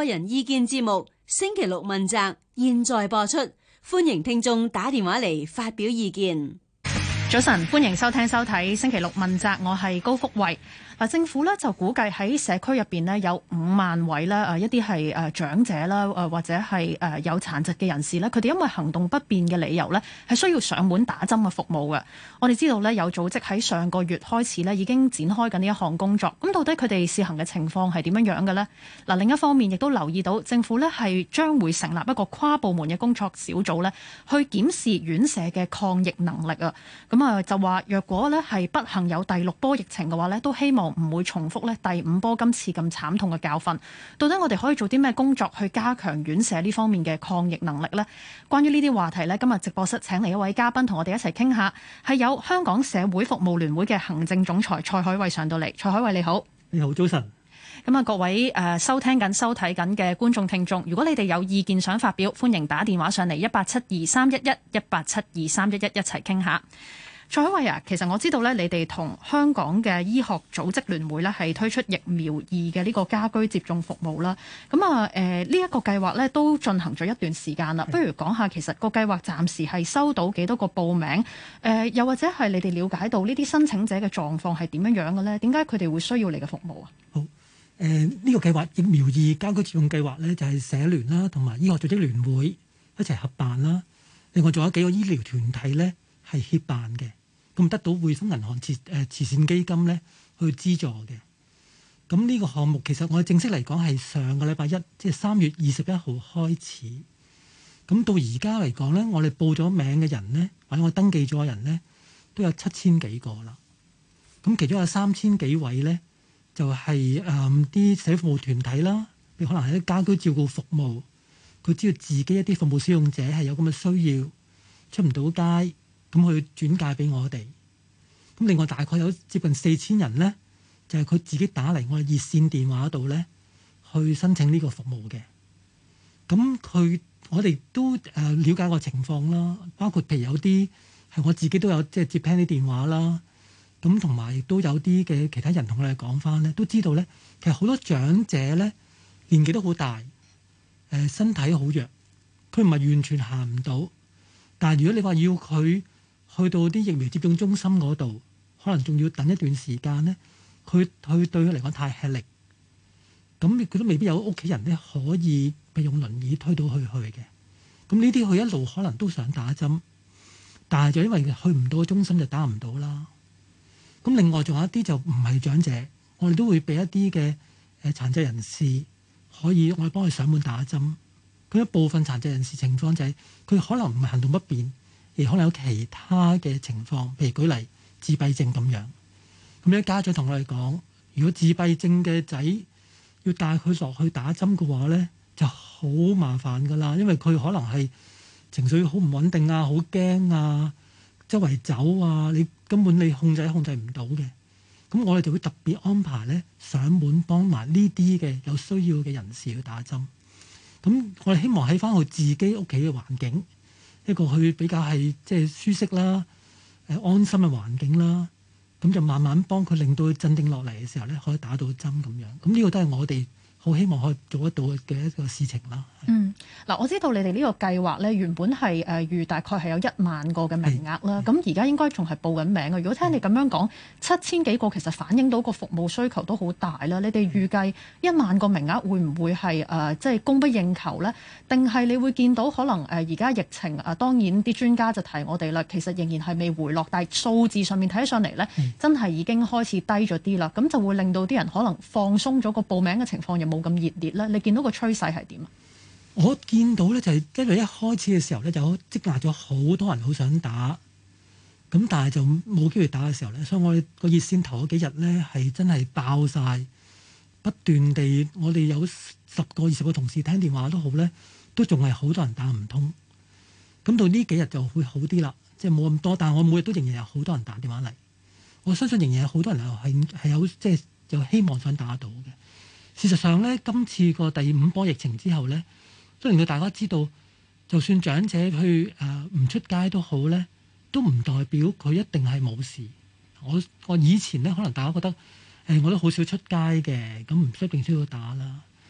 個人意見節目星期六問責，現在播出，歡迎聽眾打電話嚟發表意見。 早晨，歡迎收聽收睇星期六問責，我係高福慧。政府咧就估計喺社區入邊呢有5萬位啦，一啲係長者啦，或者係有殘疾嘅人士咧，佢哋因為行動不便嘅理由咧，係需要上門打針嘅服務嘅。我哋知道咧有組織喺上個月開始咧已經展開緊呢一項工作。咁到底佢哋試行嘅情況係點樣樣嘅呢？另一方面亦都留意到政府咧係將會成立一個跨部門嘅工作小組咧，去檢視院舍嘅抗疫能力啊。咁就話若果咧係不幸有第6波疫情嘅話咧，都希望唔會重複咧第5波今次咁慘痛嘅教訓。到底我哋可以做啲咩工作去加強院舍呢方面嘅抗疫能力呢？關於呢啲話題呢，今日直播室請嚟一位嘉賓同我哋一齊傾下，係有香港社會服務聯會嘅行政總裁蔡海偉上到嚟。蔡海偉你好。 你好，早晨。 各位收聽緊收睇緊嘅觀眾聽眾，如果你哋有意見想發表，歡迎打電話上嚟187231 187231一齊傾下。蔡海偉啊，其實我知道咧，你哋同香港嘅醫學組織聯會咧係推出疫苗2嘅呢個家居接種服務啦。咁呢一個計劃咧都進行咗一段時間啦。不如講下其實個計劃暫時係收到幾多個報名？又或者係你哋了解到呢啲申請者嘅狀況係點樣樣嘅咧？點解佢哋會需要你嘅服務啊？ 好，呢個計劃疫苗2家居接種計劃咧就係社聯啦同埋醫學組織聯會一齊合辦啦。另外仲有幾個醫療團體咧係協辦嘅。咁得到匯豐銀行慈善基金咧去資助嘅。咁呢個項目其實我哋正式嚟講係上個禮拜1，即係3月21號開始。咁到而家嚟講咧，我哋報咗名嘅人咧，或者我登記咗嘅人咧，都有7000幾個啦。咁其中有3000幾位咧，就係啲社會服務團體啦，譬如可能係啲家居照顧服務，佢知道自己一啲服務使用者係有咁嘅需要，出唔到街。咁佢轉介俾我哋，咁另外大概有接近4000人咧，就係佢自己打嚟我哋熱線電話度咧，去申請呢個服務嘅。咁我哋都了解個情況啦，包括譬如有啲係我自己都有即係接聽啲電話啦，咁同埋亦都有啲嘅其他人同我哋講翻咧，都知道咧，其實好多長者咧年紀都好大，身體好弱，佢唔係完全行唔到，但係如果你話要佢去到啲疫苗接種中心嗰度，可能仲要等一段時間咧。佢對佢嚟講太吃力，咁佢都未必有屋企人咧可以譬如用輪椅推到佢去嘅。咁呢啲佢一路可能都想打針，但係就因為去唔到中心就打唔到啦。咁另外仲有一啲就唔係長者，我哋都會俾一啲嘅殘疾人士可以我哋幫佢上門打針。佢一部分殘疾人士情況就係佢可能唔係行動不便。亦可能有其他嘅情況，譬如舉例自閉症咁樣。咁啲家長同我哋講，如果自閉症嘅仔要帶佢落去打針嘅話咧，就好麻煩噶啦，因為佢可能係情緒好唔穩定啊，好驚啊，周圍走啊，你根本控制唔到嘅。咁我哋就會特別安排咧上門幫埋呢啲嘅有需要嘅人士去打針。咁我哋希望喺翻佢自己屋企嘅環境。一個去比較係即係舒適啦、安心嘅環境啦，咁就慢慢幫佢令到佢鎮定落嚟嘅時候咧，可以打到針咁樣。咁呢個都係我哋好希望可以做得到嘅一個事情啦。 我知道你哋呢個計劃咧，原本係預大概係有1萬個嘅名額啦。咁而家應該仲係報緊名嘅。如果聽你咁樣講，7000幾個其實反映到個服務需求都好大啦。你哋預計1萬個名額會唔會係即係供不應求咧？定係你會見到可能而家疫情當然啲專家就提我哋啦，其實仍然係未回落，但係數字上面睇上嚟咧，真係已經開始低咗啲啦。咁就會令到啲人可能放鬆咗個報名嘅情況，又冇咁熱烈咧。你見到個趨勢係點啊？ 我見到咧就係因為一開始嘅時候咧就積壓咗好多人好想打，咁但係就冇機會打嘅時候咧，所以我哋個熱線頭嗰幾日咧係真係爆晒，不斷地我哋有10個20個同事聽電話都好咧，都仲係好多人打唔通。咁到呢幾日就會好啲啦，即係冇咁多，但係我每日都仍然有好多人打電話嚟，我相信仍然有好多人係有即係有希望想打到嘅。事實上咧，今次個第5波疫情之後咧，都令到大家知道，就算長者去唔出街都好咧，都唔代表佢一定係冇事。我以前咧，可能大家覺得我都好少出街嘅，咁唔一定需要打啦。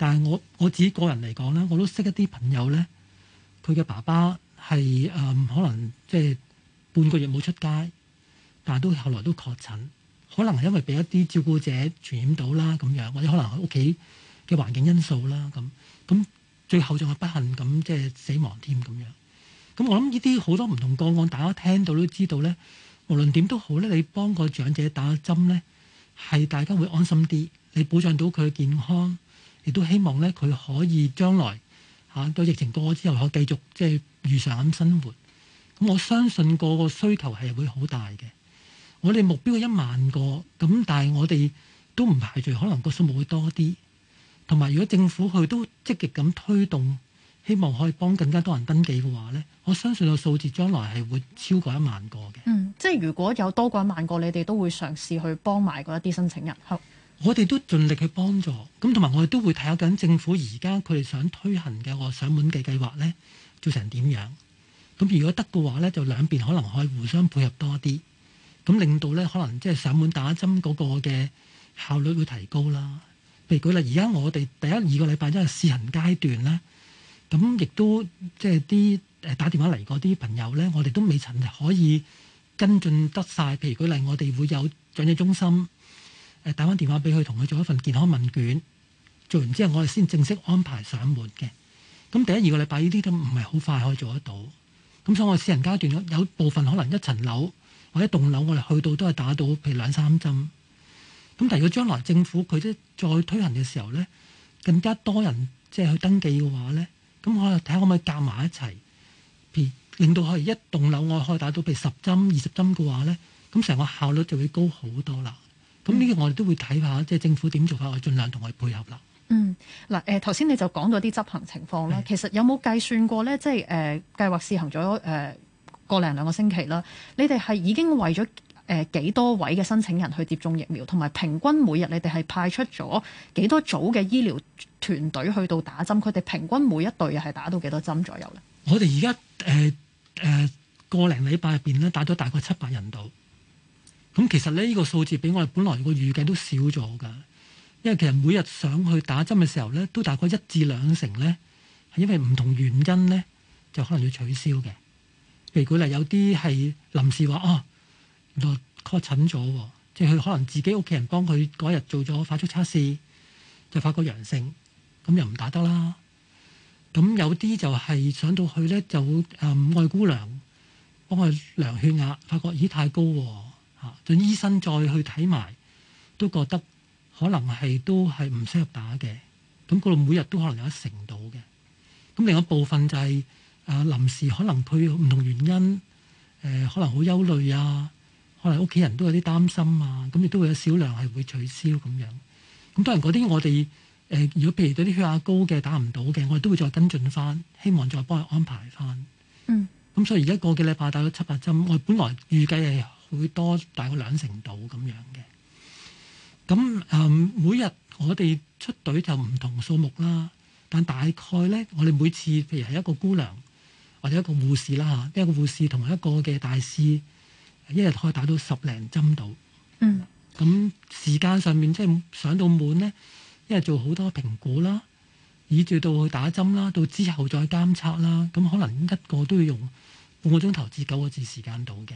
但係我自己個人嚟講咧，我都識一啲朋友咧，佢嘅爸爸係可能即係半個月冇出街，但係都後來都確診，可能係因為俾一啲照顧者傳染到啦咁樣，或者可能喺屋企嘅環境因素啦咁最後仲係不幸咁即係死亡添咁樣。咁我諗呢啲好多唔同個案，大家聽到都知道咧，無論點都好咧，你幫個長者打針咧，係大家會安心啲，你保障到佢嘅健康，亦都希望咧佢可以將來到疫情過咗之後，可以繼續即係如常咁生活。咁我相信個需求係會好大嘅。我哋目標係1萬個，咁但係我哋都唔排除可能個數目會多啲。同埋如果政府佢都積極咁推動，希望可以幫更加多人登記嘅話咧，我相信個數字將來係會超過1萬個嘅。 即係如果有多過1萬個，你哋都會嘗試去幫埋嗰一啲申請人。 我哋都盡力去幫助，咁同埋我哋都會睇下緊政府而家佢哋想推行嘅個上門嘅計劃咧，做成點樣？咁如果得嘅話咧，就兩邊可能可以互相配合多啲，咁令到咧可能即係上門打針嗰個嘅效率會提高啦。譬如舉例，而家我哋第1、2個禮拜因為試行階段咧，咁亦都即係啲打電話嚟嗰啲朋友咧，我哋都未曾可以跟進得晒。譬如舉例，我哋會有長者中心打返電話俾佢，同佢做一份健康問卷，做完之後我哋先正式安排上門嘅。咁第1、2個禮拜呢啲都唔係好快可以做得到。咁所以我試行階段有部分可能一層樓或者棟樓，我哋去到都係打到譬如2、3針。咁但係如果將來政府佢都再推行嘅時候咧，更加多人即係去登記嘅話咧，咁我哋睇下可唔可以夾埋一齊，譬如令到可以一棟樓我可以打到譬如10針、20針嘅話咧，咁成個效率就會高好多啦。咁呢個我哋都會睇下，即係政府點做法，我盡量同佢配合啦。 嗱頭先你就講咗啲執行情況啦，其實有冇計算過咧？即係計劃試行咗個零2個星期啦，你哋係已經為咗幾多位嘅申請人去接種疫苗，同埋平均每日你哋係派出咗幾多組嘅醫療團隊去到打針？佢哋平均每一隊係打到幾多針左右咧？ 我哋而家個零禮拜入邊咧打咗大概700人度。咁其實呢個數字比我哋本來個預計都少咗㗎，因為其實每日上去打針嘅時候咧，都大概1至2成咧，係因為唔同原因咧，就可能要取消嘅。譬如舉例，有啲係臨時話原來確診咗，即係佢可能自己屋企人幫佢嗰日做咗快速測試，就發覺陽性，咁又唔打得啦。咁有啲就係上到去咧，就愛姑娘幫佢量血壓，發覺咦太高喎。就醫生再去睇埋，都覺得可能都係唔適合打嘅。咁嗰度每日都可能有1成到嘅。咁另一部分就係臨時可能佢唔同原因，可能好憂慮啊，可能屋企人都有啲擔心啊，咁亦都會有少量係會取消咁樣。咁當然嗰啲我哋如果譬如對啲血壓高嘅打唔到嘅，我哋都會再跟進翻，希望再幫佢安排翻。咁所以而家個幾禮拜打咗700針，我本來預計係會多大概2成度咁樣嘅。咁每日我哋出隊就唔同數目啦，但大概咧，我哋每次譬如係一個姑娘或者一個護士啦嚇，一個護士同埋一個嘅大師，一日可以打到10零針度。咁時間上面即係上到滿咧，因為做好多評估啦，以至到去打針啦，到之後再監測啦，咁可能一個都要用半個鐘頭至9個字時間到嘅。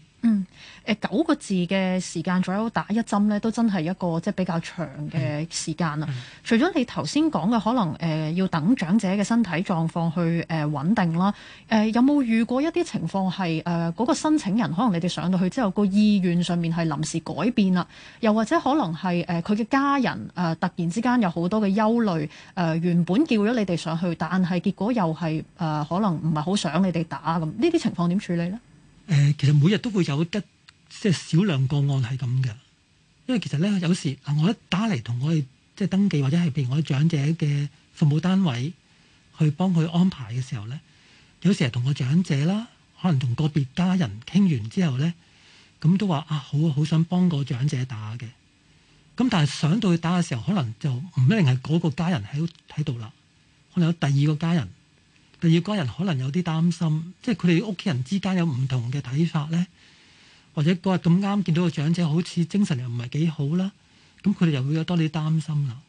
9個字嘅時間左右打一針咧，都真係一個即係比較長嘅時間啦。除咗你頭先講嘅可能要等長者嘅身體狀況去穩定啦，有冇遇過一啲情況係嗰個申請人可能你哋上到去之後個意願上面係臨時改變啦，又或者可能係佢嘅家人突然之間有好多嘅憂慮，原本叫咗你哋上去，但係結果又係可能唔係好想你哋打咁，呢啲情況點處理咧？ 其實每日都會有即係少量個案係咁嘅，因為其實咧有時我一打嚟同我哋即係登記或者係譬如我哋長者嘅服務單位去幫佢安排嘅時候咧，有時係同個長者啦，可能同個別家人傾完之後咧，咁都話好想幫個長者打嘅，咁但係上到去打嘅時候，可能就唔一定係嗰個家人喺度啦，可能有第二個家人。第二個家人可能有啲擔心，即係佢哋屋企人之間有唔同嘅睇法咧，或者嗰日咁啱見到個長者好似精神又唔係幾好啦，咁佢哋又會有多啲擔心啦。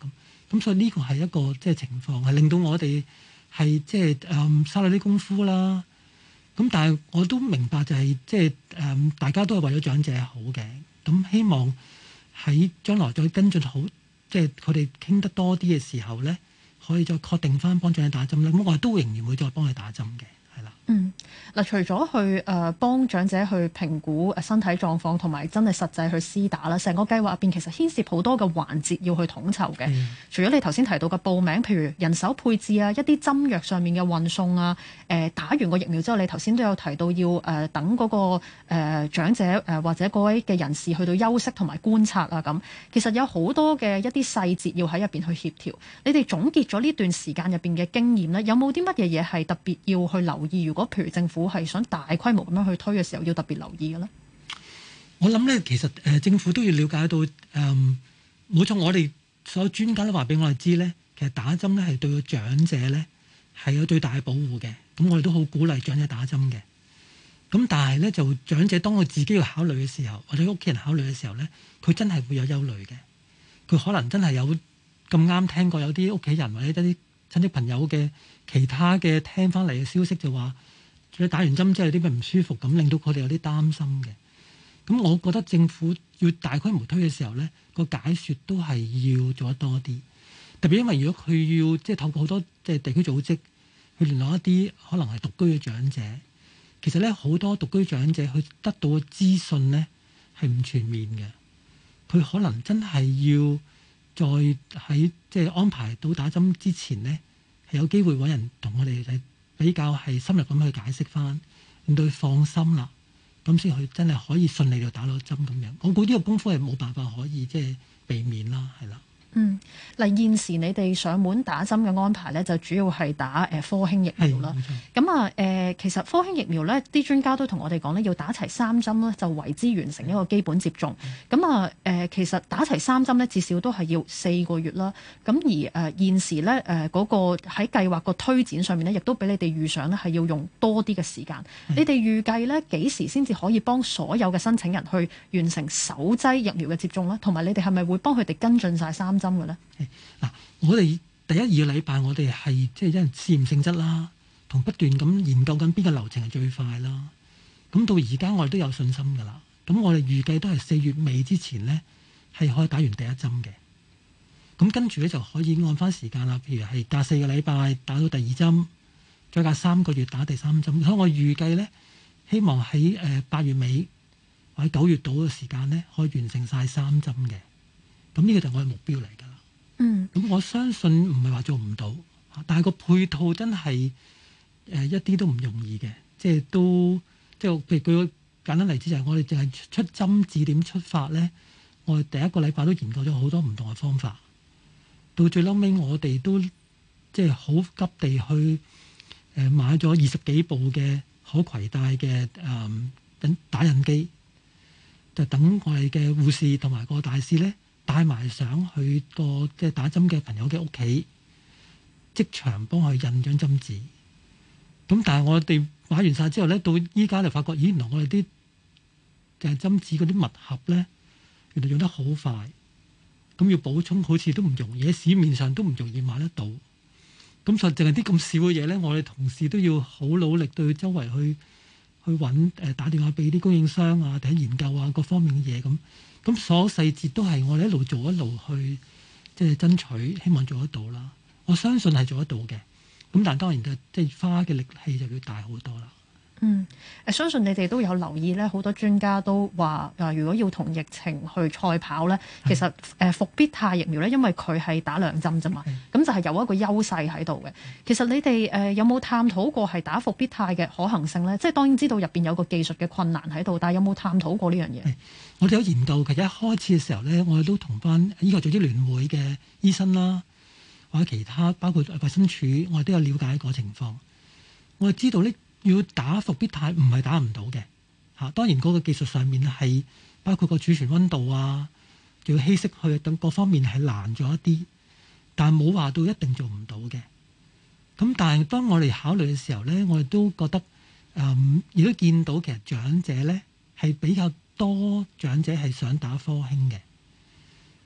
咁所以呢個係一個即係情況，係令到我哋係即係嘥咗啲功夫啦。咁但係我都明白就係即係大家都係為咗長者好嘅。咁希望喺將來再跟進好，即係佢哋傾得多啲嘅時候咧，可以再確定翻幫長者打針咧。咁我都仍然會再幫佢打針嘅。 嗱，除咗去幫長者去評估身體狀況同埋真係實際去施打啦，成個計劃入邊其實牽涉好多嘅環節要去統籌嘅。除咗你頭先提到嘅報名，譬如人手配置啊，一啲針藥上面嘅運送啊，打完個疫苗之後，你頭先都有提到要等嗰個長者或者嗰位嘅人士去到休息同埋觀察啊咁。其實有好多嘅一啲細節要喺入邊去協調。你哋總結咗呢段時間入邊嘅經驗咧，有冇啲乜嘢嘢係特別要去留意？如果譬如政府係想大規模咁樣去推嘅時候，要特別留意嘅咧。 我諗咧，其實政府都要了解到冇錯，我哋所有專家都話俾我哋知咧，其實打針咧係對個長者咧係有最大嘅保護嘅。咁我哋都好鼓勵長者打針嘅。咁但係咧，就長者當佢自己要考慮嘅時候，或者屋企人考慮嘅時候咧，佢真係會有憂慮嘅。佢可能真係有咁啱聽過有啲屋企人或者一啲親戚朋友嘅其他嘅聽翻嚟嘅消息就話，你打完針之後有啲咩唔舒服，咁令到佢哋有啲擔心嘅。咁我覺得政府要大規模推嘅時候咧，個解說都係要做得多啲。特別因為如果佢要即係透過好多即係地區組織去聯絡一啲可能係獨居嘅長者，其實咧好多獨居長者佢得到嘅資訊咧係唔全面嘅。佢可能真係要再喺即係安排到打針之前咧，係有機會揾人同我哋嚟比較係深入咁去解釋翻，令到佢放心啦，咁先佢真係可以順利就打到針咁樣。我估呢個功夫係冇辦法可以即係避免啦，係啦。 嗱，現時你哋上門打針嘅安排咧，就主要係打科興疫苗啦。咁啊其實科興疫苗咧，啲專家都同我哋講咧，要打齊3針咧，就為之完成一個基本接種。咁啊其實打齊3針咧，至少都係要4個月啦。咁而現時咧嗰個喺計劃個推展上面咧，亦都俾你哋預想咧係要用多啲嘅時間。你哋預計咧幾時先至可以幫所有嘅申請人去完成首劑疫苗嘅接種咧？同埋你哋係咪會幫佢哋跟進晒3針嘅咧？ 嗱，我哋第1、2個禮拜我哋係即係因為試驗性質啦，同不斷咁研究緊邊個流程係最快啦。咁到而家我哋都有信心㗎啦。咁我哋預計都係4月尾之前咧係可以打完第1針嘅。咁跟住咧就可以按翻時間啦，譬如係隔4個禮拜打到第2針，再隔3個月打第3針。所以我預計咧，希望喺8月尾或者9月度嘅時間咧，可以完成晒3針嘅。咁呢個就係我嘅目標嚟㗎啦。咁我相信唔係話做唔到，但係個配套真係一啲都唔容易嘅。即係都即係譬如舉個簡單例子，就係我哋淨係出針字點出發咧，我哋第1個禮拜都研究咗好多唔同嘅方法。到最嬲尾，我哋都即係好急地去買咗20幾部嘅可攜帶嘅打印機，就等我哋嘅護士同埋個大使咧帶埋上去個即係打針嘅朋友嘅屋企，即場幫佢印張針紙。咁但係我哋買完晒之後咧，到依家就發覺，咦，原來我哋啲就係針紙嗰啲密盒咧，原來用得好快。咁要補充好似都唔容易，喺市面上都唔容易買得到。咁就淨係啲咁少嘅嘢咧，我哋同事都要好努力對周圍去揾打電話俾啲供應商啊，睇研究啊各方面嘅嘢咁。咁所有細節都係我哋一路做一路去即係爭取，希望做得到啦。我相信係做得到嘅。咁但係當然就即係花嘅力氣就要大好多啦。 相信你哋都有留意咧，好多專家都話如果要同疫情去賽跑咧，其實復必泰疫苗咧，因為佢係打2針啫嘛，咁就係有一個優勢喺度嘅。其實你哋有冇探討過係打復必泰嘅可行性咧？即係當然知道入邊有個技術嘅困難喺度，但係有冇探討過呢樣嘢？ 我哋有研究嘅，一開始嘅時候咧，我哋都同翻醫學組織聯會嘅醫生啦，或者其他包括衛生署，我哋都有了解個情況。我哋知道呢，要打復必泰唔係打唔到嘅嚇。當然嗰個技術上面係包括個儲存溫度啊，仲要稀釋去等各方面係難咗一啲，但係冇話到一定做唔到嘅。咁但係當我哋考慮嘅時候咧，我哋都覺得亦都見到其實長者咧係比較多長者係想打科興嘅。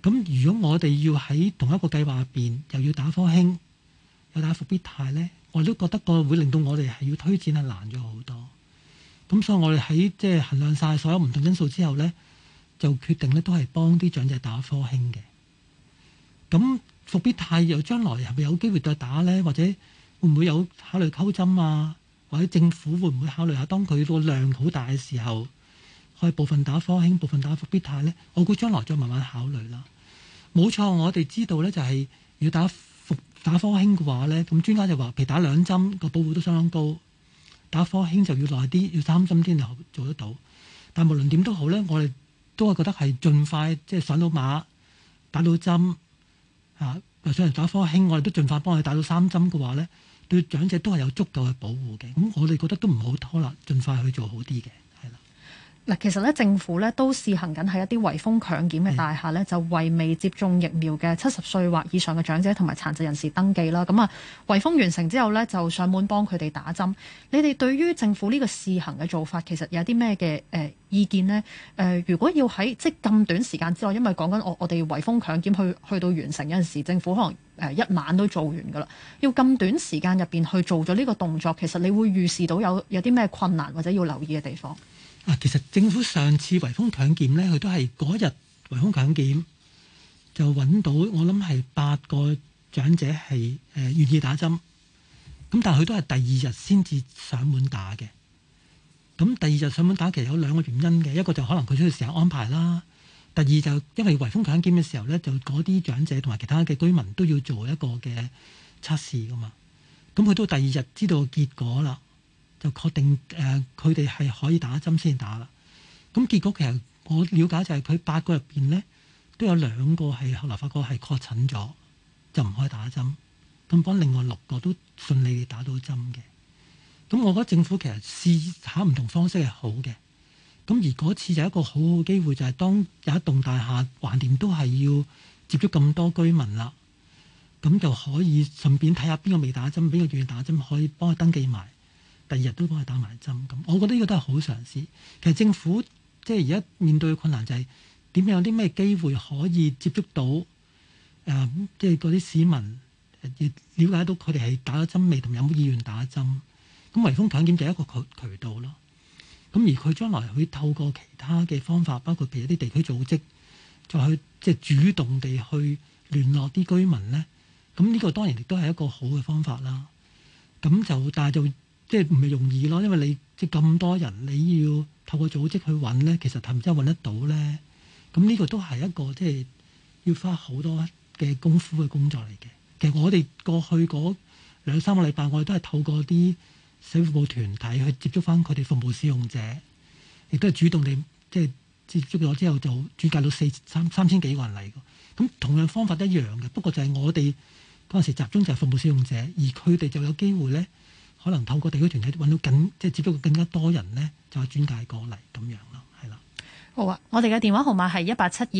咁如果我哋要喺同一個計劃入邊又要打科興，又打復必泰咧，我都覺得個會令到我哋係要推薦係難咗好多。咁所以我哋喺即係衡量晒所有唔同因素之後咧，就決定咧都係幫啲長者打科興嘅。咁復必泰又將來係咪有機會再打咧？或者會唔會有考慮溝針啊？或者政府會唔會考慮下當佢個量好大嘅時候，可以部分打科興，部分打復必泰咧？我估將來再慢慢考慮啦。冇錯，我哋知道咧就係要打科興嘅話咧，咁專家就話，譬如打2針個保護都相當高，打科興就要耐啲，要3針先做得到。但無論點都好咧，我哋都係覺得係盡快即係上到馬，打到針嚇，又上嚟打科興，我哋都盡快幫佢打到3針嘅話咧，對長者都係有足夠嘅保護嘅。咁我哋覺得都唔好拖啦，盡快去做好啲嘅。 嗱，其實咧政府咧都試行緊喺一啲圍封強檢嘅大廈咧，就為未接種疫苗嘅70歲或以上嘅長者同埋殘疾人士登記啦。咁啊，圍封完成之後咧，就上門幫佢哋打針。你哋對於政府呢個試行嘅做法，其實有啲咩嘅意見呢？如果要喺即係咁短時間之內，因為講緊我哋圍封強檢去到完成，有陣時政府可能一晚都做完㗎啦。要咁短時間入邊去做咗呢個動作，其實你會預示到有啲咩困難或者要留意嘅地方？ 其實政府上次圍封強檢咧，佢都係嗰日圍封強檢就揾到，我諗係8個長者係願意打針，咁但係佢都係第2日先至上門打嘅。咁第2日上門打其實有2個原因嘅，一個就可能佢需要時間安排啦，第二就因為圍封強檢嘅時候咧，就嗰啲長者同埋其他嘅居民都要做一個嘅測試噶嘛，咁佢都第2日知道結果啦。就確定佢哋係可以打針先打啦。咁結果其實我了解就係佢8個入邊咧，都有2個係後來發覺係確診咗，就唔可以打針。咁幫另外6個都順利地打到針嘅。咁我覺得政府其實試下唔同方式係好嘅。咁而嗰次就一個好好嘅機會，就係當有一棟大廈橫掂都係要接觸咁多居民啦，咁就可以順便睇下邊個未打針，邊個願意打針，可以幫佢登記埋。第2日都幫佢打埋針，咁我覺得呢個都係好嘗試。其實政府即係而家面對嘅困難就係點樣有啲咩機會可以接觸到即係嗰啲市民，了解到佢哋係打咗針未，同有冇意願打針。咁圍封強檢就係一個渠道咯。咁而佢將來會透過其他嘅方法，包括譬如一啲地區組織，再去即係主動地去聯絡啲居民咧。咁呢個當然亦都係一個好嘅方法啦。咁就但係就即係唔係容易咯，因為你即係咁多人，你要透過組織去揾咧，其實係唔真係揾得到咧。咁呢個都係一個即係要花好多嘅功夫嘅工作嚟嘅。其實我哋過去嗰2-3個禮拜，我哋都係透過啲社會服務團體去接觸翻佢哋服務使用者，亦都係主動地即係接觸咗之後就轉介到3000幾個人嚟嘅。咁同樣方法一樣嘅，不過就係我哋嗰陣時集中就係服務使用者，而佢哋就有機會咧。可能透過地區團體揾到即係接觸更加多人咧，就係轉介過嚟咁樣咯，係啦。 好啊，我哋嘅電話號碼係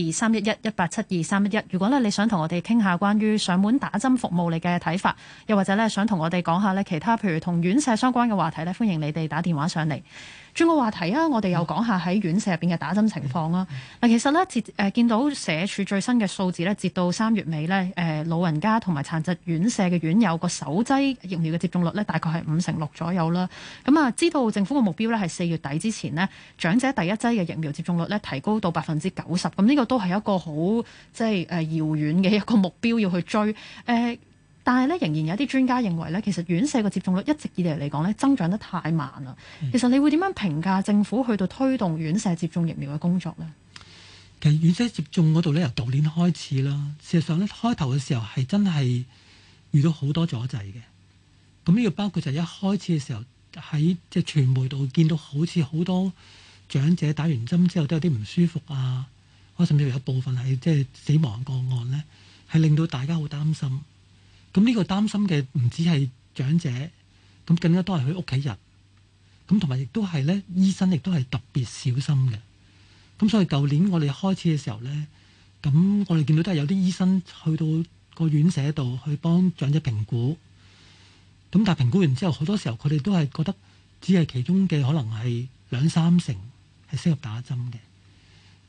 187231187231。如果咧你想同我哋傾下關於上門打針服務你嘅睇法，又或者咧想同我哋講下咧其他譬如同院舍相關嘅話題咧，歡迎你哋打電話上嚟。轉個話題啊，我哋又講下喺院舍入邊嘅打針情況啦。嗱，其實咧見到社署最新嘅數字咧，截到3月尾咧，老人家同埋殘疾院舍嘅院友個首劑疫苗嘅接種率咧，大概係56%左右啦。咁啊，知道政府嘅目標咧係4月底之前呢，長者第1劑嘅疫苗接種率咧提高到90%。咁呢個都係一個好即係遙遠嘅一個目標要去追。但係咧，仍然有啲專家認為咧，其實院舍嘅接種率一直以嚟講咧增長得太慢啦。其實你會點樣評價政府去到推動院舍接種疫苗嘅工作呢？ 其實院舍接種嗰度咧，由舊年開始啦，事實上咧開頭嘅時候係真係遇到好多阻滯嘅。咁呢個包括就係一開始嘅時候喺即係傳媒度見到好似好多長者打完針之後都有啲唔舒服啊，或甚至有部分係即係死亡個案咧，係令到大家好擔心。咁呢個擔心嘅唔止係長者，咁更加多係佢屋企人，咁同埋亦都係咧醫生亦都係特別小心嘅。咁所以舊年我哋開始嘅時候咧，咁我哋見到都係有啲醫生去到個院舍度去幫長者評估，咁但係評估完之後，好多時候佢哋都係覺得只係其中嘅可能係2-3成係適合打針嘅。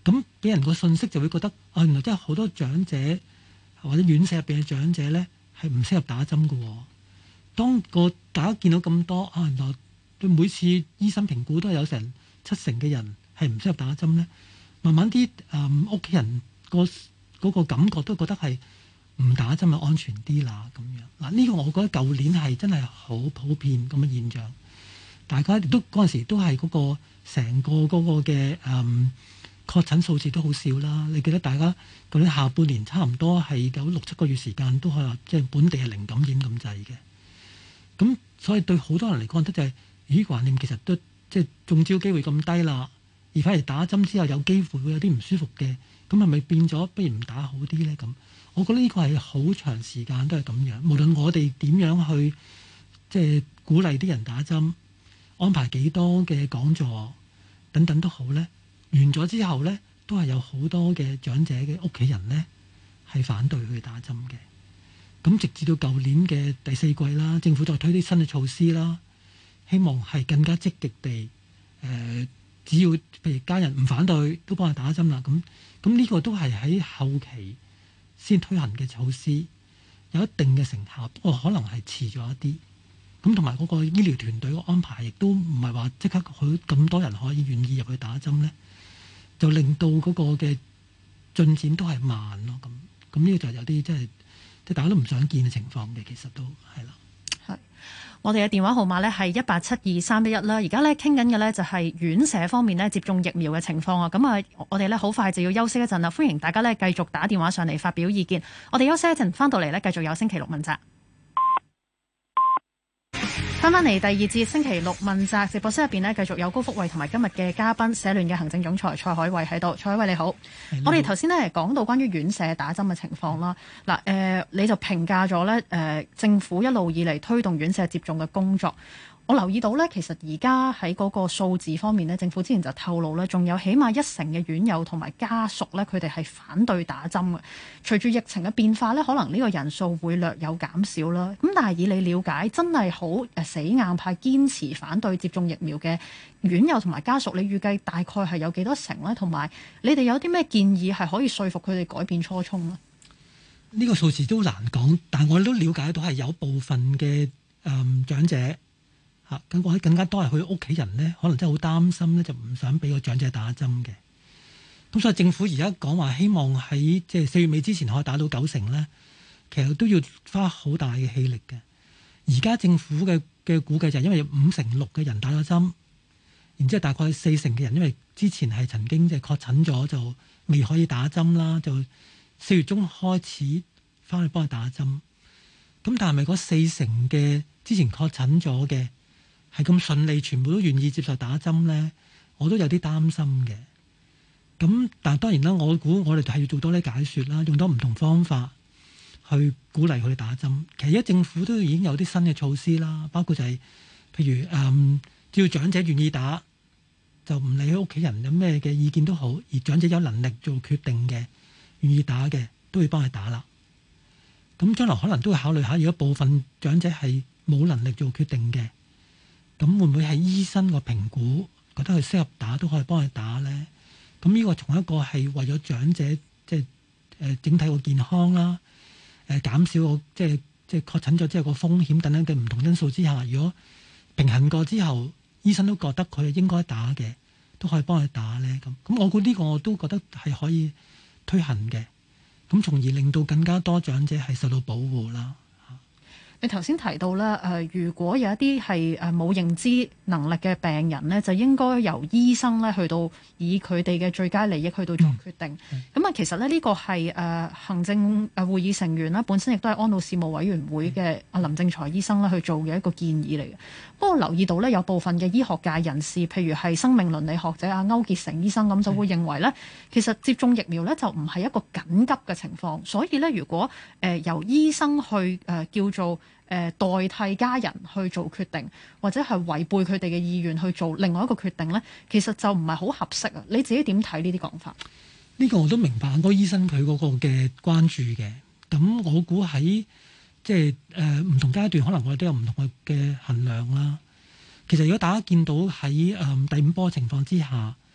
咁俾人個信息就會覺得原來真係好多長者或者院舍入邊嘅長者咧係唔適合打針嘅喎。當大家見到咁多原來對每次醫生評估都係有成70%嘅人係唔適合打針咧，慢慢啲屋企人嗰個感覺都覺得係唔打針就安全啲啦咁樣。嗱，呢個我覺得舊年係真係好普遍咁嘅現象，大家亦都嗰陣時都係嗰個成個嗰個嘅確診數字都好少啦。你記得大家舊年下半年差唔多係有6-7個月時間都係話即係本地係零感染咁滯嘅。咁所以對好多人嚟講，覺得就係橫掂其實都即係中招機會咁低啦，而反而打針之後有機會會有啲唔舒服嘅，咁係咪變咗不如唔打好啲咧？咁我覺得呢個係好長時間都係咁樣。無論我哋點樣去即係鼓勵啲人打針，安排幾多嘅講座等等都好咧，完咗之後咧，都係有好多嘅長者嘅屋企人咧係反對去打針嘅。咁直至到舊年嘅第4季啦，政府再推啲新嘅措施啦，希望係更加積極地只要譬如家人唔反對，都幫佢打針啦。咁呢個都係喺後期先推行嘅措施，有一定嘅成效，不過可能係遲咗一啲。咁同埋嗰個醫療團隊嘅安排，亦都唔係話即刻咁多人可以願意入去打針咧，就令到嗰個嘅進展都係慢咯。咁呢個就有啲即係大家都唔想見嘅情況嘅，其實都係啦。 係，我哋嘅電話號碼咧係1872311啦。而家咧傾緊嘅咧就係院舍方面咧接種疫苗嘅情況啊。咁啊，我哋咧好快就要休息一陣啦。歡迎大家咧繼續打電話上嚟發表意見。我哋休息一陣，翻到嚟咧繼續有星期六問責。翻返嚟第二節星期六問責直播室入邊呢，繼續有高福慧同埋今日嘅嘉賓社聯嘅行政總裁蔡海偉喺度。蔡海偉你好，我哋頭先呢講到關於院舍打針嘅情況啦。嗱，你就評價咗呢政府一路以嚟推動院舍接種嘅工作。我留意到呢，其實而家喺嗰個數字方面呢，政府之前就透露呢，仲有起碼1成嘅院友同埋家屬呢，佢哋係反對打針嘅。隨住疫情嘅變化呢，可能呢個人數會略有減少啦。咁但係以你了解，真係好死硬派堅持反對接種疫苗嘅院友同埋家屬，你預計大概係有幾多成呢？同埋你哋有啲咩建議係可以說服佢哋改變初衷呢？ 呢個數字都難講，但我哋都了解到係有部分嘅長者。咁或者更加多係佢屋企人咧，可能真係好擔心咧，就唔想俾個長者打針嘅。咁所以政府而家講話希望喺即係4月尾之前可以打到90%咧，其實都要花好大嘅氣力嘅。而家政府嘅估計就係因為有56%嘅人打咗針，然之後大概40%嘅人因為之前係曾經即係確診咗就未可以打針啦，就4月中開始翻去幫佢打針。咁但係咪嗰40%嘅之前確診咗嘅係咁順利，全部都願意接受打針咧？我都有啲擔心嘅。咁但係當然啦，我估我哋係要做多啲解說啦，用多唔同方法去鼓勵佢哋打針。其實而家政府都已經有啲新嘅措施啦，包括就係譬如只要長者願意打，就唔理佢屋企人有咩嘅意見都好，而長者有能力做決定嘅，願意打嘅都會幫佢打啦。咁將來可能都會考慮下，如果部分長者係冇能力做決定嘅，咁會唔會係醫生個評估覺得佢適合打都可以幫佢打咧？咁呢個從一個係為咗長者即係整體個健康啦，減少個即係確診咗之後個風險等等嘅唔同因素之下，如果平衡過之後，醫生都覺得佢係應該打嘅，都可以幫佢打咧。咁我估呢個我都覺得係可以推行嘅，咁從而令到更加多長者係受到保護啦。 你頭先提到咧，如果有一啲係冇認知能力嘅病人咧，就應該由醫生咧去到以佢哋嘅最佳利益去到做決定。咁其實咧呢個係行政會議成員啦，本身亦都係安老事務委員會嘅林正財醫生咧去做嘅一個建議嚟嘅。不過留意到咧，有部分嘅醫學界人士，譬如係生命倫理學者歐傑成醫生咁，就會認為咧，其實接種疫苗咧就唔係一個緊急嘅情況，所以咧如果由醫生去叫做代替家人去做決定，或者係違背佢哋嘅意願去做另外一個決定呢，其實就唔係好合適啊！你自己點睇呢啲講法？ 呢個我都明白，嗰個醫生佢嗰個嘅關注嘅。咁我估喺即係唔同階段，可能我哋都有唔同嘅衡量啦。其實如果大家見到喺第5波情況之下，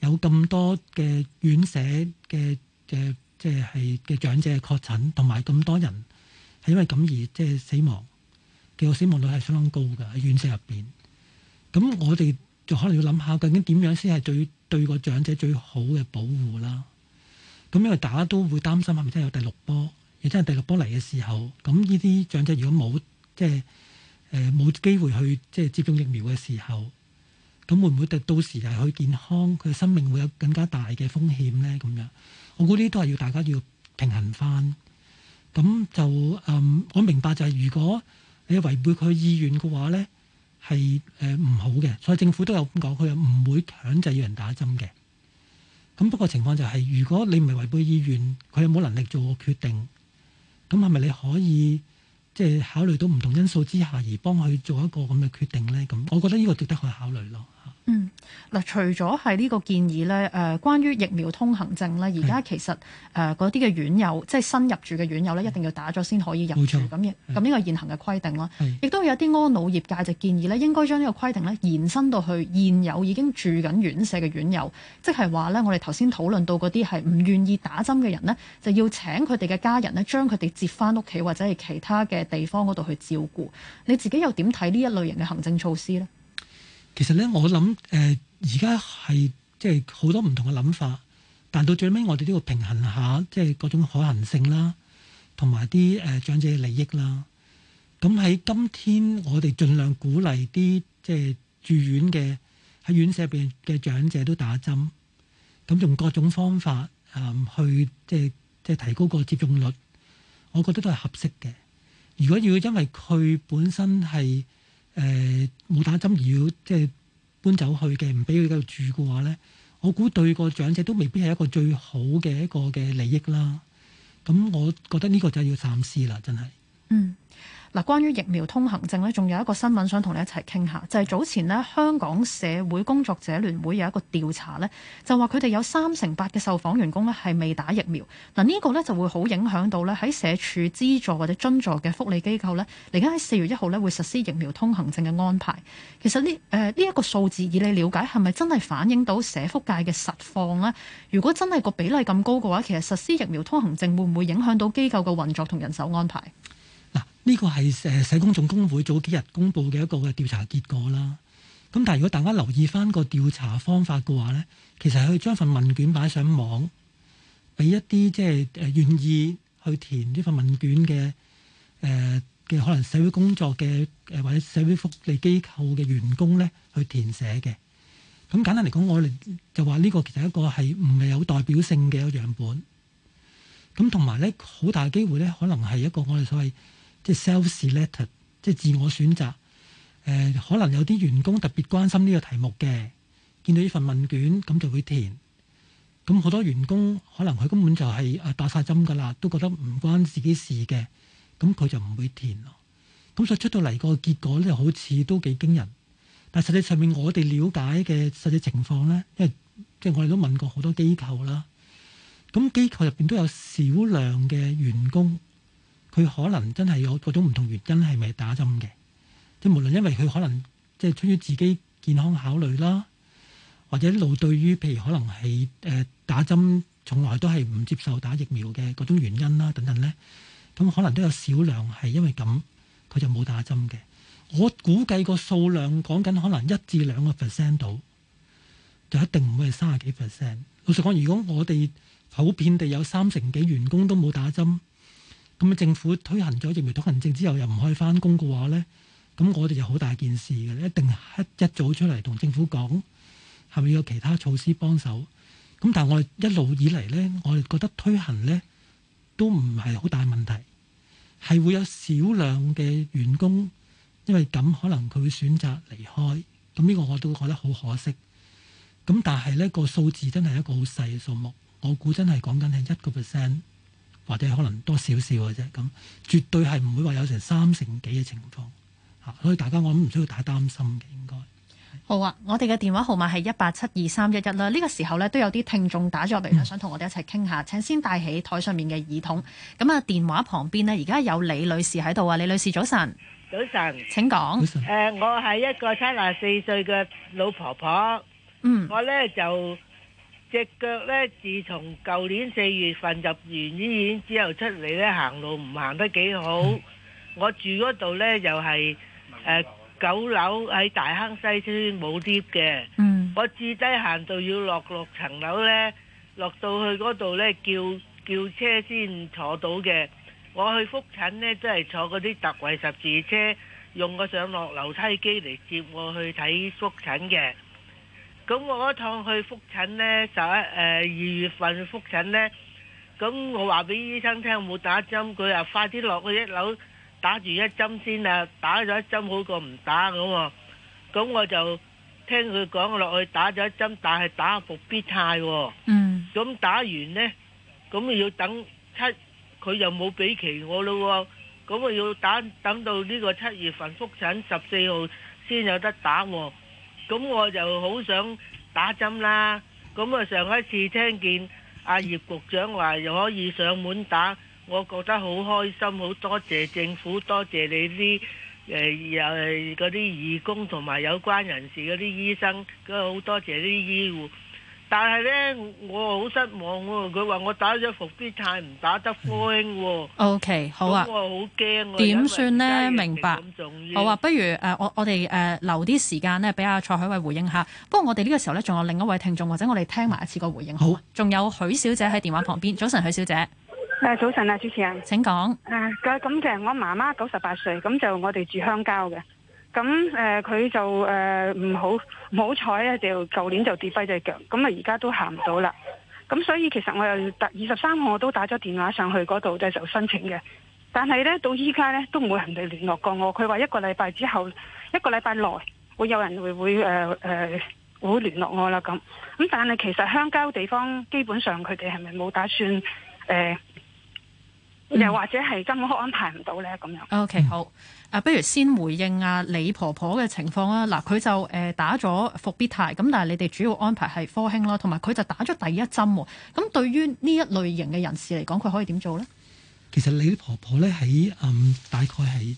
有咁多嘅院舍嘅嘅長者確診，同埋咁多人係因為咁而死亡嘅個死亡率係相當高嘅喺院舍入邊。咁我哋就可能要諗下，究竟點樣先係對個長者最好嘅保護啦？咁因為大家都會擔心係咪真係有第六波？而真係第六波嚟嘅時候，咁呢啲長者如果冇冇機會去接種疫苗嘅時候，咁會唔會到時係佢健康佢嘅生命會有更加大嘅風險咧？咁樣，我估呢啲都係要大家要平衡翻。咁就我明白就係如果你違背佢意願嘅話咧，係唔好嘅。所以政府都有咁講，佢又唔會強制要人打針嘅。咁不過情況就係，如果你唔係違背意願，佢有冇能力做個決定？咁係咪你可以考慮到唔同因素之下而幫佢做一個咁嘅決定咧？咁我覺得呢個值得去考慮咯。 嗱，除咗係呢個建議咧，關於疫苗通行證咧，而家其實嗰啲嘅院友，即係新入住嘅院友咧，一定要打咗先可以入住。咁呢個現行嘅規定啦，亦都有啲安老業界就建議咧，應該將呢個規定咧延伸到去現有已經住緊院舍嘅院友，即係話咧，我哋頭先討論到嗰啲係唔願意打針嘅人呢，就要請佢哋嘅家人呢，將佢哋接翻屋企或者係其他嘅地方嗰度去照顧。你自己又點睇呢一類型嘅行政措施呢？ 其實咧，我諗而家係好多唔同嘅諗法，但到最尾我哋都要平衡下嗰種可行性啦，同埋啲長者嘅利益啦。咁喺今天，我哋盡量鼓勵啲住院嘅喺院舍入邊嘅長者都打針，咁用各種方法去提高個接種率，我覺得都係合適嘅。如果要因為佢本身係冇打針而要搬走去嘅，唔俾佢繼續住嘅話咧，我估對個長者都未必係一個最好嘅一個嘅利益啦。咁我覺得呢個就要三思啦，真係。 嗱，關於疫苗通行證咧，仲有一個新聞想同你一齊傾下，就係早前呢，香港社會工作者聯會有一個調查呢，就話佢哋有38%嘅受訪員工呢係未打疫苗。嗱，呢個呢就會好影響到呢喺社署資助或者津助嘅福利機構呢，嚟緊喺4月1號呢會實施疫苗通行證嘅安排。其實呢一個數字，以你了解係咪真係反映到社福界嘅實況呢？如果真係個比例咁高嘅話，其實實施疫苗通行證會唔會影響到機構嘅運作同人手安排？ 呢個係社工總工會早幾日公布嘅一個嘅調查結果啦。咁但係如果大家留意翻個調查方法嘅話咧，其實係可以將份問卷擺上網，俾一啲願意去填呢份問卷嘅可能社會工作嘅或者社會福利機構嘅員工咧去填寫嘅。咁簡單嚟講，我哋就話呢個其實一個係唔係有代表性嘅一個樣本。咁同埋咧，好大機會咧，可能係一個我哋所謂self-selected， 自我選擇。可能有啲員工特別關心呢個題目嘅，見到呢份問卷咁就會填。咁好多員工可能佢根本就係打晒針㗎啦，都覺得唔關自己事嘅，咁佢就唔會填咯。咁所以出到嚟個結果咧，好似都幾驚人。但實際上面我哋了解嘅實際情況咧，因為我哋都問過好多機構啦，咁機構入邊都有少量嘅員工。佢可能真係有各種唔同原因係咪打針嘅？無論因為佢可能出於自己健康考慮啦，或者一路對於譬如可能係打針從來都係唔接受打疫苗嘅嗰種原因啦等等咧，咁可能都有少量係因為咁佢就冇打針嘅。我估計個數量講緊可能1至2% 度，就一定唔會係30幾%。老實講，如果我哋普遍地有30幾員工都冇打針，咁政府推行咗疫苗通行證之後又唔可以翻工嘅話咧，咁我哋就好大件事嘅，一定係一早出嚟同政府講，係咪有其他措施幫手？咁但係我哋一路以嚟咧，我哋覺得推行咧都唔係好大問題，係會有少量嘅員工因為咁可能佢會選擇離開，咁呢個我都覺得好可惜。咁但係咧個數字真係一個好細嘅數目，我估真係講緊係1%。或者可能多少少嘅啫，咁絕對係唔會話有成30幾嘅情況嚇，所以大家我諗唔需要太擔心嘅應該。 好啊，我哋嘅電話號碼係1872311啦。呢個時候咧都有啲聽眾打咗入嚟想同我哋一齊傾下。請先帶起台上面嘅耳筒。咁啊，電話旁邊呢，而家有李女士喺度啊。李女士早晨。 早晨。 請講。 我係一個74歲嘅老婆婆。我咧就隻腳呢，自從舊年4月份入完醫院之後出嚟呢，行路唔行得幾好。我住嗰度呢，又係9樓喺大坑西村冇 lift 嘅。我至低限度要落6層樓呢，落到去嗰度呢，叫車先坐到嘅。我去覆診呢，都係坐嗰啲特惠十字車，用個上落樓梯機嚟接我去睇覆診嘅。咁我嗰趟去覆診呢，2月份覆診呢，咁我話俾醫生聽冇打針，佢話快啲落去1樓打住1針先啊，打咗1針好過唔打咁喎。咁我就聽佢講落去打咗1針，但係打復必泰喎。咁打完呢，咁要等佢又冇俾期我咯喎。咁我要等到呢個7月份覆診14號先有得打喎。咁我就好想打針啦。咁啊上一次聽見阿葉局長話又可以上門打，我覺得好開心，好多謝政府，多謝你啲嗰啲義工同埋有關人士嗰啲醫生，好多謝啲醫護。但係呢，我好失望喎。佢話我打咗復必泰，唔打得科興喎。 OK， 好啊。 咁我好驚。 點算呢？明白。好啊，不如我哋留啲時間呢，俾阿蔡海偉回應下。不過我哋呢個時候呢，仲有另一位聽眾，或者我哋聽埋一次個回應。好。仲有許小姐喺電話旁邊。早晨，許小姐。 早晨啊，主持人。 請講。 咁嘅，我媽媽98歲，咁就我哋住鄉郊嘅。咁佢就唔好彩咧，就舊年就跌跛隻腳，咁啊而家都行唔到啦。咁所以其實我又23號我都打咗電話上去嗰度就申請嘅，但係咧到依家咧都冇人哋聯絡過我。佢話1個禮拜之後，1個禮拜內會有人會聯絡我啦咁。咁但係其實鄉郊地方基本上佢哋係咪冇打算又或者係根本安排唔到呢？咁樣。 OK， 好。不如先回應李婆婆嘅情況啦。嗱，佢就打咗復必泰，咁但係你哋主要安排係科興啦，同埋佢就打咗第1針喎。咁對於呢一類型嘅人士嚟講，佢可以點做呢？ 其實李婆婆咧喺大概係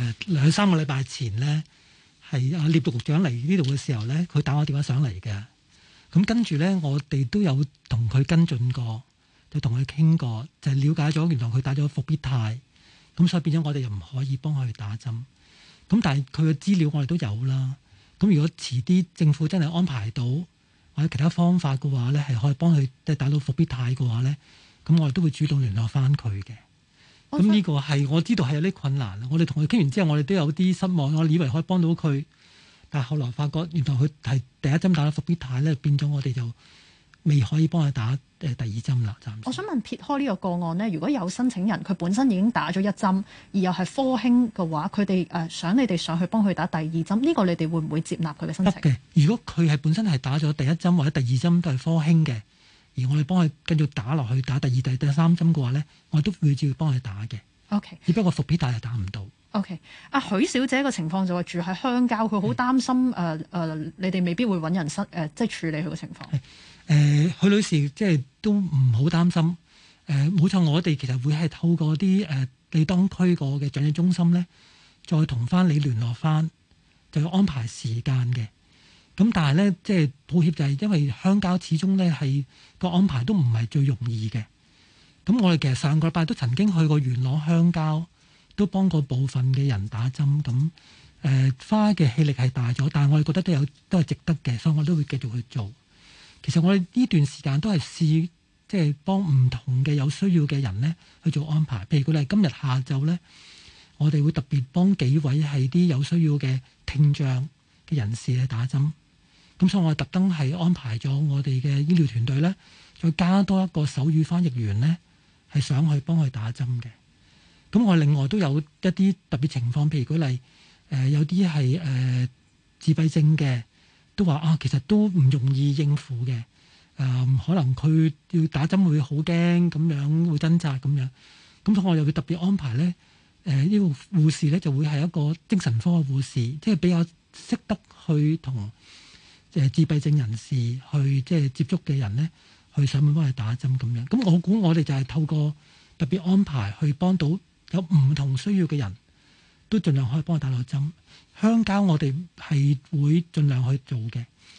2-3個禮拜前呢，係聶局長嚟呢度嘅時候呢，佢打我電話上嚟嘅。咁跟住呢，我哋都有同佢跟進過。就同佢傾過，就係了解咗原來佢打咗復必泰，咁所以變咗我哋又唔可以幫佢打針。咁但係佢嘅資料我哋都有啦。咁如果遲啲政府真係安排到或者其他方法嘅話咧，係可以幫佢即係打到復必泰嘅話咧，咁我哋都會主動聯絡翻佢嘅。咁呢個係我知道係有啲困難。我哋同佢傾完之後，我哋都有啲失望。我以為可以幫到佢，但係後來發覺原來佢係第1針打咗復必泰咧，變咗我哋就未可以幫佢打第2針啦。暫時我想問撇開呢個個案呢，如果有申請人佢本身已經打咗1針，而又係科興嘅話，佢哋想你哋上去幫佢打第2針，呢個你哋會唔會接納佢嘅申請？ 得嘅。如果佢係本身係打咗第1針或者第2針都係科興嘅，而我哋幫佢繼續打落去打第2、第3針嘅話呢，我哋都會照幫佢打嘅。 OK， 只不過復必泰係打唔到。 OK， 許小姐個情況就話住喺鄉郊，佢好擔心你哋未必會揾人即係處理佢嘅情況。 許女士即係都唔好擔心。冇錯，我哋其實會係透過啲你當區個嘅長者中心咧，再同翻你聯絡翻，就要安排時間嘅。咁但係咧，即係抱歉就係因為鄉郊始終咧係個安排都唔係最容易嘅。咁我哋其實上個禮拜都曾經去過元朗鄉郊，都幫過部分嘅人打針。咁花嘅氣力係大咗，但係我哋覺得都係值得嘅，所以我都會繼續去做。其實我哋呢段時間都係試，即係幫唔同嘅有需要嘅人呢去做安排。譬如佢哋今日下晝呢，我哋會特別幫幾位係啲有需要嘅聽障嘅人士去打針。咁所以我哋特登係安排咗我哋嘅醫療團隊呢，再加多一個手語翻譯員呢，係上去幫佢打針嘅。咁我另外都有一啲特別情況，譬如舉例，有啲係自閉症嘅。都話其實都唔容易應付嘅。可能佢要打針會好驚咁樣，會掙扎咁樣。咁所以我又會特別安排咧。呢個護士咧就會係一個精神科嘅護士，即係比較識得去同自閉症人士去即係接觸嘅人咧，去上門幫佢打針咁樣。咁我估我哋就係透過特別安排去幫到有唔同需要嘅人，都盡量可以幫佢打到針。鄉郊我哋係會盡量去做嘅，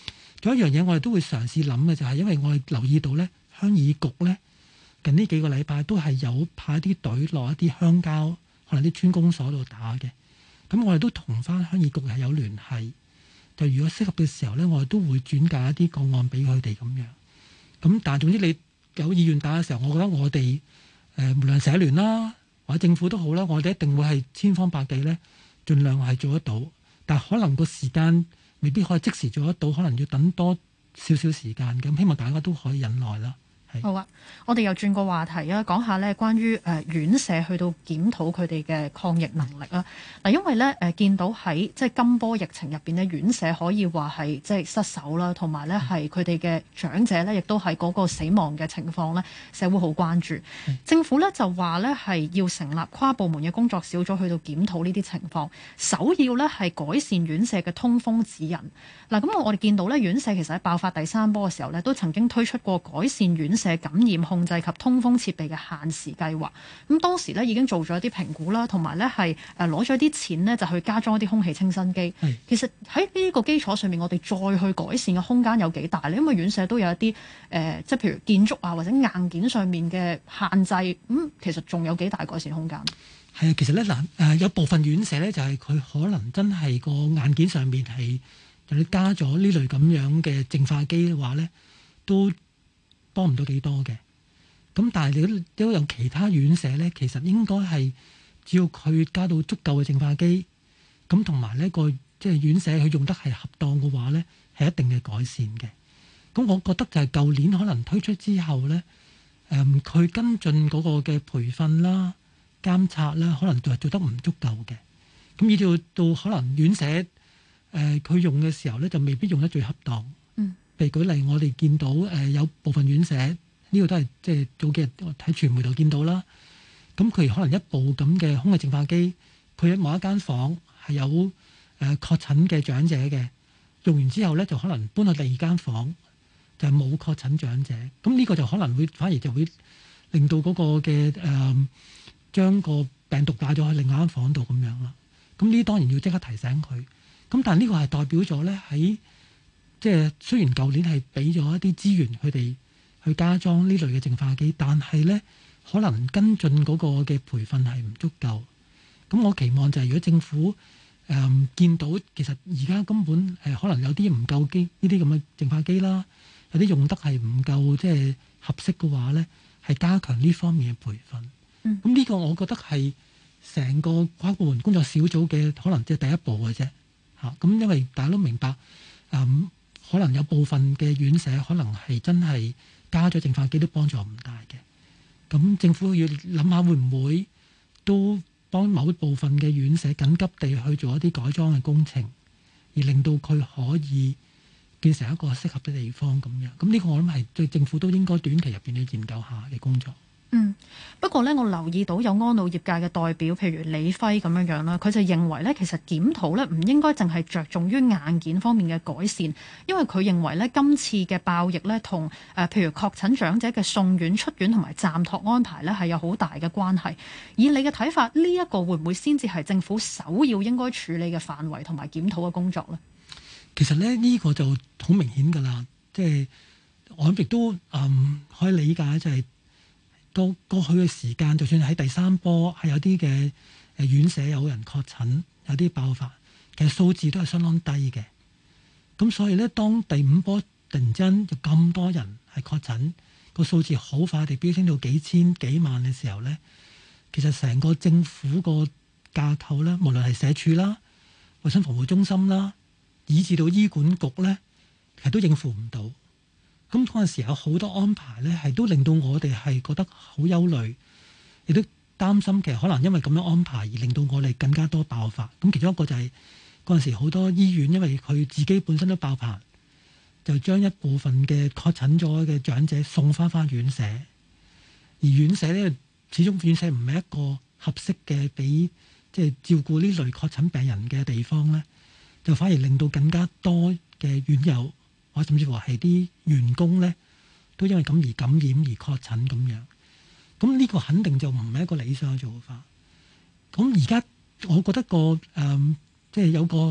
仲有一樣嘢我哋都會嘗試諗嘅就係，因為我哋留意到咧，鄉議局咧近呢幾個禮拜都係有派啲隊落一啲鄉郊，可能啲村公所度打嘅。咁我哋都同翻鄉議局係有聯繫，就如果適合嘅時候咧，我哋都會轉介一啲個案俾佢哋咁樣。咁但係總之你有意願打嘅時候，我覺得我哋無論社聯啦或者政府都好啦，我哋一定會係千方百計咧，盡量係做得到。但係可能個時間未必可以即時做得到，可能要等多少少時間。咁希望大家都可以忍耐啦。 好啊，我哋又轉個話題啊，講下咧關於院舍去到檢討佢哋嘅抗疫能力啊。嗱，因為咧見到喺即係今波疫情入邊咧，院舍可以話係即係失守啦，同埋咧係佢哋嘅長者咧，亦都係嗰個死亡嘅情況咧，社會好關注。政府咧就話咧係要成立跨部門嘅工作小組去到檢討呢啲情況，首要咧係改善院舍嘅通風指引。嗱，咁我哋見到咧院舍其實喺爆發第三波嘅時候咧，都曾經推出過改善院舍感染控制及通風設備嘅限時計劃。咁當時咧已經做咗一啲評估啦，同埋咧係攞咗啲錢呢，就去加裝一啲空氣清新機。其實喺呢個基礎上面，我哋再去改善嘅空間有幾大呢？因為院舍都有一啲即係譬如建築啊或者硬件上面嘅限制，咁其實仲有幾大改善空間？ 係啊，其實咧有部分院舍咧就係佢可能真係個硬件上面係你加咗呢類咁樣嘅淨化機嘅話咧，都幫唔到幾多嘅。咁但係你都有其他院舍咧，其實應該係只要佢加到足夠嘅淨化機，咁同埋呢個即係院舍佢用得係恰當嘅話咧，係一定嘅改善嘅。咁我覺得就係舊年可能推出之後咧，佢跟進嗰個嘅培訓啦、監察啦，可能就係做得唔足夠嘅。咁以至到可能院舍佢用嘅時候咧，就未必用得最恰當。譬如舉例，我哋見到有部分院舍呢個都係即係早幾日喺傳媒度見到啦。咁佢可能一部咁嘅空氣淨化機，佢喺某一間房係有確診嘅長者嘅，用完之後咧就可能搬去第二間房，就係冇確診長者。咁呢個就可能會反而就會令到嗰個嘅將個病毒帶咗去另外一間房度咁樣啦。咁呢當然要即刻提醒佢。咁但係呢個係代表咗咧喺即係雖然舊年係俾咗一啲資源佢哋去加裝呢類嘅淨化機，但係咧可能跟進嗰個嘅培訓係唔足夠。咁我期望就係如果政府見到其實而家根本可能有啲唔夠機呢啲咁嘅淨化機啦，有啲用得係唔夠即係合適嘅話咧，係加強呢方面嘅培訓。咁呢個我覺得係成個跨部門工作小組嘅可能即係第一步嘅啫。咁因為大家都明白，可能有部分嘅院舍可能係真係加咗淨化機都幫助唔大嘅。咁政府要諗下會唔會都幫某部分嘅院舍緊急地去做一啲改裝嘅工程，而令到佢可以變成一個適合嘅地方咁樣。咁呢個我諗係對政府都應該短期入邊去研究下嘅工作。 不過呢，我留意到有安老業界嘅代表，譬如李輝咁樣啦，佢就認為呢，其實檢討呢唔應該淨係着重於硬件方面嘅改善，因為佢認為呢，今次嘅爆疫呢，同譬如確診長者嘅送院、出院同埋暫託安排呢，係有好大嘅關係。以你嘅睇法，呢一個會唔會先至係政府首要應該處理嘅範圍同埋檢討嘅工作呢？ 其實呢個就好明顯㗎啦，即係我亦都可以理解就係。到過去嘅時間，就算喺第三波係有啲嘅院舍有人確診，有啲爆發，其實數字都係相當低嘅。咁所以咧，當第五波突然之間有咁多人係確診，個數字好快地飆升到幾千幾萬嘅時候咧，其實成個政府個架構咧，無論係社署啦、衞生防護中心啦，以至到醫管局咧，其實都應付唔到。咁嗰陣時有好多安排咧，係都令到我哋係覺得好憂慮，亦都擔心其實可能因為咁樣安排而令到我哋更加多爆發。咁其中一個就係嗰陣時好多醫院因為佢自己本身都爆棚，就將一部分嘅確診咗嘅長者送翻院舍，而院舍咧始終院舍唔係一個合適嘅俾即係照顧呢類確診病人嘅地方咧，就反而令到更加多嘅院友，或甚至乎係啲員工咧，都因為咁而感染而確診咁樣。咁呢個肯定就唔係一個理想嘅做法。咁而家我覺得即係有個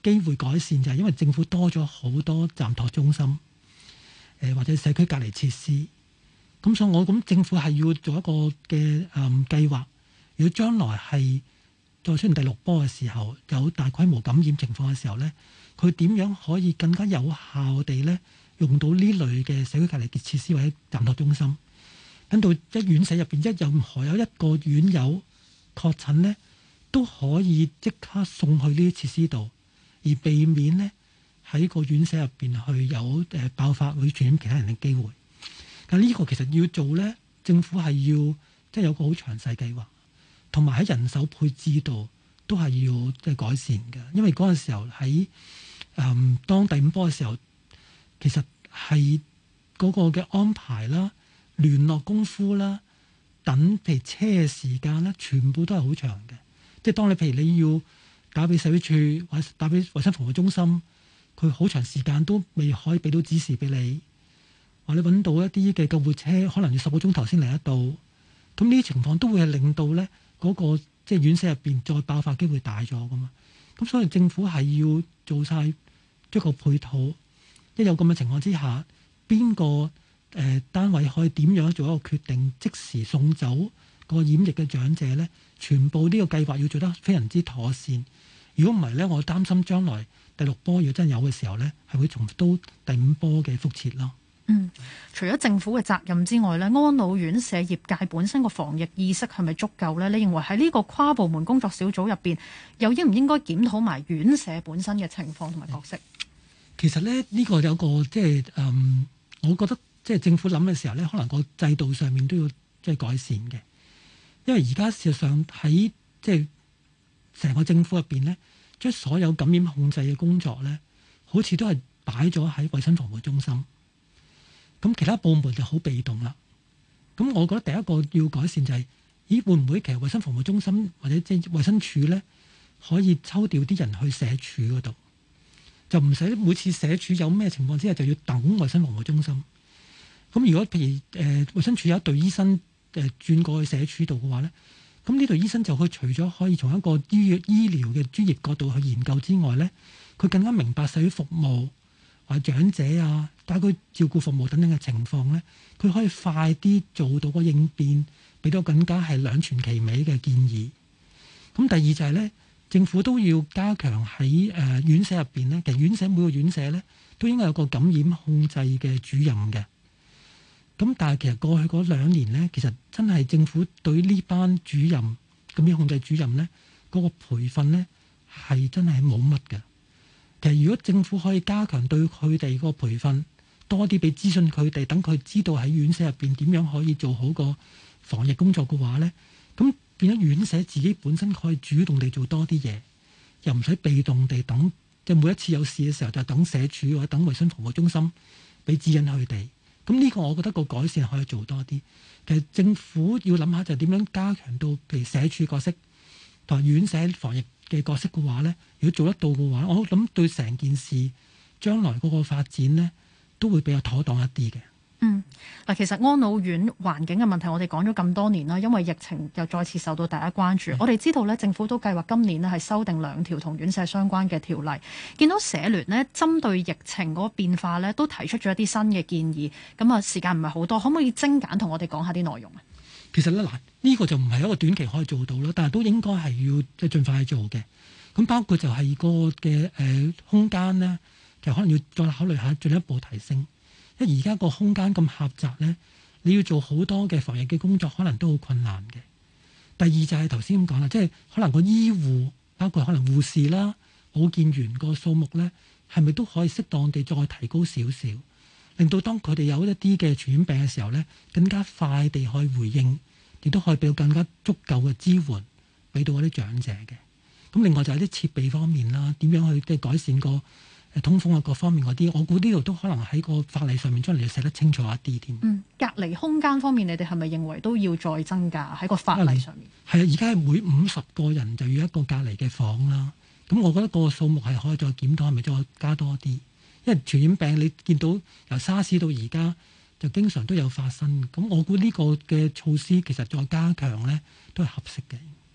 機會改善，就係因為政府多咗好多暫託中心，或者社區隔離設施。咁所以我諗政府係要做一個嘅計劃。如果將來係再出現第6波嘅時候，有大規模感染情況嘅時候咧，佢點樣可以更加有效地咧用到呢類嘅社區隔離嘅設施或者暫託中心？等到一院舍入邊任何有一個院友確診咧，都可以即刻送去呢啲設施度，而避免咧喺個院舍入邊去有爆發會傳染其他人嘅機會。但呢個其實要做咧，政府係要即係有個好詳細計劃，同埋喺人手配置度都係要即係改善嘅。因為嗰陣時候喺當第5波嘅時候，其實係嗰個嘅安排啦、聯絡功夫啦、等譬如車嘅時間咧，全部都係好長嘅。即係當你譬如你要打俾社會處或者打俾衞生防護中心，佢好長時間都未可以俾到指示俾你，或者揾到一啲嘅救護車，可能要10個鐘頭先嚟得到。咁呢啲情況都會係令到咧嗰個即係院舍入邊再爆發機會大咗噶嘛。咁所以政府係要做晒一個配套，一有咁嘅情況之下，邊個單位可以點樣做一個決定，即時送走個染疫嘅長者咧？全部呢個計劃要做得非常之妥善。如果唔係咧，我擔心將來第6波如果真係有嘅時候咧，係會重蹈第5波嘅覆轍咯。 除咗政府嘅責任之外咧，安老院舍業界本身個防疫意識係咪足夠咧？你認為喺呢個跨部門工作小組入邊，又應唔應該檢討埋院舍本身嘅情況同埋角色？ 其實咧，呢個有個即係我覺得即係政府諗嘅時候咧，可能個制度上面都要即係改善嘅。因為而家事實上喺即係成個政府入邊咧，將所有感染控制嘅工作咧，好似都係擺咗喺衞生防護中心。咁其他部門就好被動啦。咁我覺得第一個要改善就係，會唔會其實衞生防護中心或者即係衞生署咧，可以抽調啲人去社署嗰度，就唔使每次社署有咩情況之下就要等衞生防護中心。咁如果譬如衞生署有一隊醫生轉過去社署度嘅話咧，咁呢隊醫生就佢除咗可以從一個醫療嘅專業角度去研究之外咧，佢更加明白社會服務或者長者啊、家居照顧服務等等嘅情況咧，佢可以快啲做到個應變，俾到更加係兩全其美嘅建議。咁第二就係咧，政府都要加強喺院舍入邊咧，其實院舍每個院舍咧都應該有個感染控制嘅主任嘅。咁但係其實過去嗰2年咧，其實真係政府對呢班主任感染控制主任咧嗰個培訓咧係真係冇乜嘅。其實如果政府可以加強對佢哋個培訓，多啲俾資訊佢哋，等佢知道喺院舍入邊點樣可以做好個防疫工作嘅話咧，咁變咗院舍自己本身可以主動地做多啲嘢，又唔使被動地等，即係每一次有事嘅時候就等社署或者等衞生防護中心俾指引佢哋。咁呢個我覺得個改善可以做多啲。其實政府要諗下就點樣加強到譬如社署角色同埋院舍防疫嘅角色嘅話咧，如果做得到嘅話，我諗對成件事將來嗰個發展咧都會比較妥當一啲嘅。 嗱，其實安老院環境嘅問題，我哋講咗咁多年啦，因為疫情又再次受到大家關注。我哋知道咧，政府都計劃今年咧係修訂2條同院舍相關嘅條例。見到社聯呢，針對疫情嗰個變化咧，都提出咗一啲新嘅建議。咁啊，時間唔係好多，可唔可以精簡同我哋講下啲內容啊？ 其實咧呢個就唔係一個短期可以做到啦，但係都應該係要即係盡快去做嘅。咁包括就係個嘅空間咧，其實可能要再考慮下進一步提升。因為而家個空間咁狹窄咧，你要做好多嘅防疫嘅工作，可能都好困難嘅。第二就係頭先咁講啦，即係可能個醫護，包括可能護士啦、保健員個數目咧，係咪都可以適當地再提高少少，令到當佢哋有一啲嘅傳染病嘅時候咧，更加快地可以回應，亦都可以俾到更加足夠嘅支援俾到嗰啲長者嘅。咁另外就係啲設備方面啦，點樣去即係改善個通風啊各方面嗰啲，我估呢度都可能喺個法例上面將嚟要寫得清楚一啲添。 隔離空間方面，你哋係咪認為都要再增加喺個法例上面？ 係啊，而家係每50個人就要一個隔離嘅房啦。咁我覺得個數目係可以再檢討，係咪再加多啲？因為傳染病你見到由沙士到而家就經常都有發生。咁我估呢個嘅措施其實再加強咧都係合適嘅。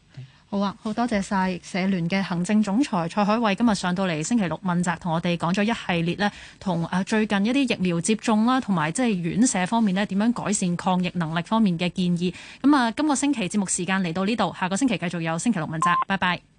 好啊，好多謝晒社聯嘅行政總裁蔡海偉今日上到嚟星期六問責，同我哋講咗一系列呢，同最近一啲疫苗接種啦，同埋即係院舍方面呢點樣改善抗疫能力方面嘅建議。咁啊，今個星期節目時間嚟到呢度，下個星期繼續有星期六問責，拜拜。